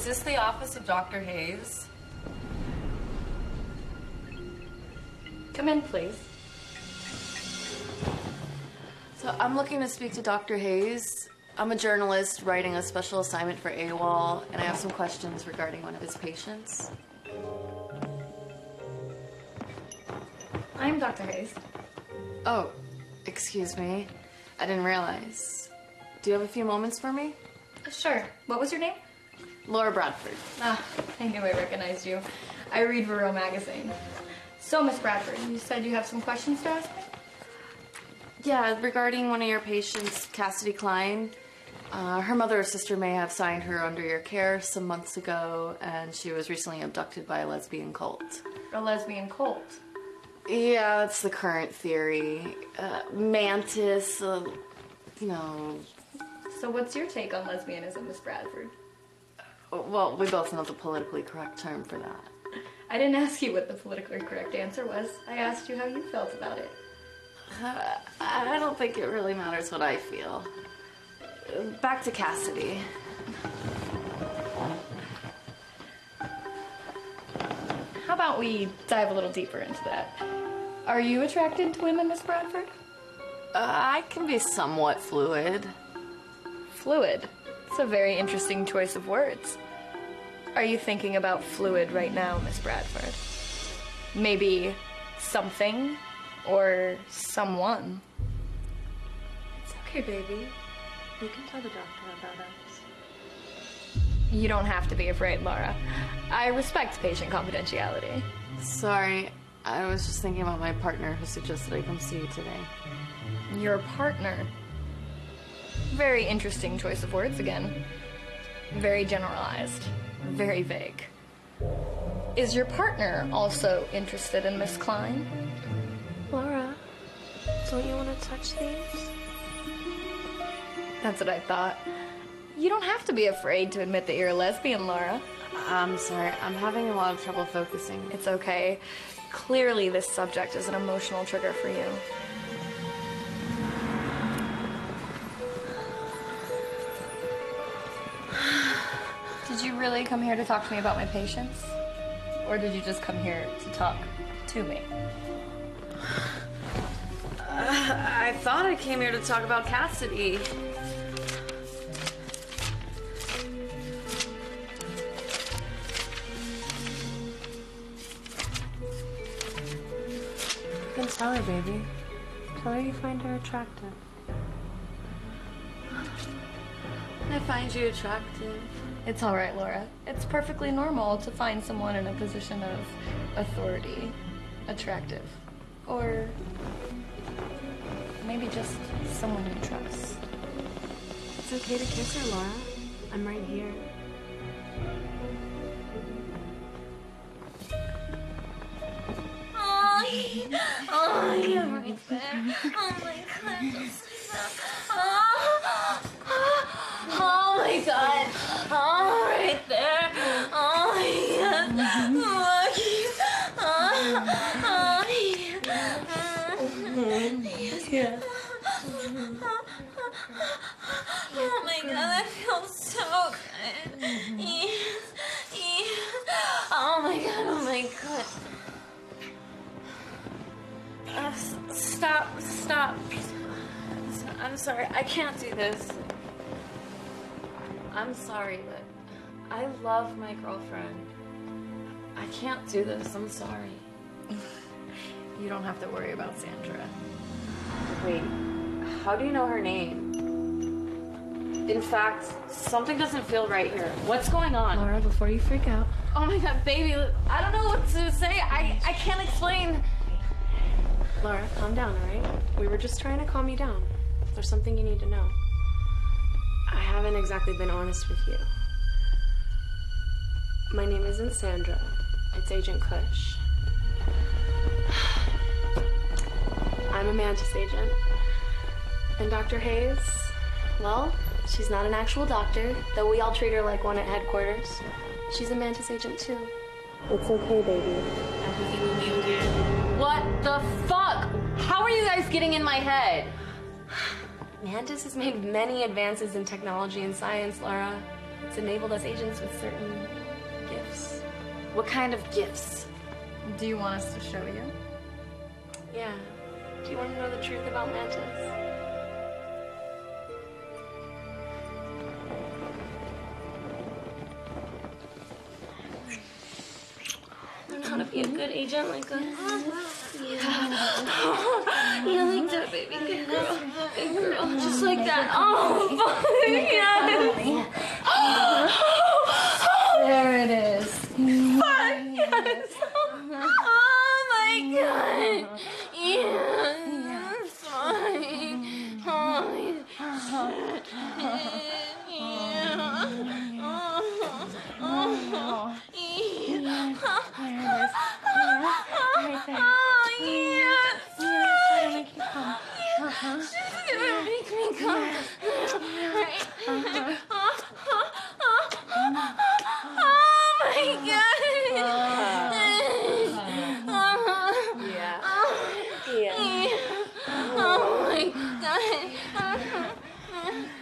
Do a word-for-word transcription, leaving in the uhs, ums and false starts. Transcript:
Is this the office of Doctor Hayes? Come in, please. So I'm looking to speak to Doctor Hayes. I'm a journalist writing a special assignment for AWOL, and I have some questions regarding one of his patients. I'm Doctor Hayes. Oh, excuse me. I didn't realize. Do you have a few moments for me? Sure. What was your name? Laura Bradford. Ah, I knew I recognized you. I read Varroa magazine. So, Miss Bradford, you said you have some questions to ask me? Yeah, regarding one of your patients, Cassidy Klein. Uh, her mother or sister may have signed her under your care some months ago, and she was recently abducted by a lesbian cult. A lesbian cult? Yeah, that's the current theory. Uh, Mantis, uh, you know... So what's your take on lesbianism, Miss Bradford? Well, we both know the politically correct term for that. I didn't ask you what the politically correct answer was. I asked you how you felt about it. Uh, I don't think it really matters what I feel. Back to Cassidy. How about we dive a little deeper into that? Are you attracted to women, Miss Bradford? Uh, I can be somewhat fluid. Fluid? It's a very interesting choice of words. Are you thinking about fluid right now, Miss Bradford? Maybe something or someone? It's okay, baby. You can tell the doctor about us. You don't have to be afraid, Laura. I respect patient confidentiality. Sorry, I was just thinking about my partner who suggested I come see you today. Your partner? Very interesting choice of words again. Very generalized. Very vague. Is your partner also interested in Miss Klein? Laura, don't you want to touch these? That's what I thought. You don't have to be afraid to admit that you're a lesbian, Laura. I'm sorry, I'm having a lot of trouble focusing. It's okay. Clearly this subject is an emotional trigger for you. Did you really come here to talk to me about my patients? Or did you just come here to talk to me? Uh, I thought I came here to talk about Cassidy. You can tell her, baby. Tell her you find her attractive. I find you attractive. It's all right, Laura. It's perfectly normal to find someone in a position of authority attractive. Or maybe just someone you trust. It's okay to kiss her, Laura. I'm right here. Oh, oh, you're right there. Oh my goodness. Oh, oh my god. Oh, right there. Oh, yes. Oh, oh, yes. Yes. Oh my god, that feels so good. Yes. Yes. Oh my god, oh my god. Uh, stop, stop. I'm sorry, I can't do this. I'm sorry, but I love my girlfriend. I can't do this, I'm sorry. You don't have to worry about Sandra. Wait, how do you know her name? In fact, something doesn't feel right here. What's going on? Laura, before you freak out. Oh my god, baby, I don't know what to say. I, I can't explain. Laura, calm down, all right? We were just trying to calm you down. There's something you need to know. I haven't exactly been honest with you. My name isn't Sandra. It's Agent Kush. I'm a Mantis agent. And Doctor Hayes, well, she's not an actual doctor, though we all treat her like one at headquarters. She's a Mantis agent too. It's okay, baby. Everything will be okay. What the fuck? How are you guys getting in my head? Mantis has made many advances in technology and science, Laura. It's enabled us agents with certain gifts. What kind of gifts? Do you want us to show you? Yeah. Do you want to know the truth about Mantis? Learn how to be a good agent like us. Yeah. Yeah, like that, baby. Good girl. Good girl. Just like that. Oh, yes. There it is. Yes. Oh my god. Yes. Fine. Oh, Yeah. Oh my god.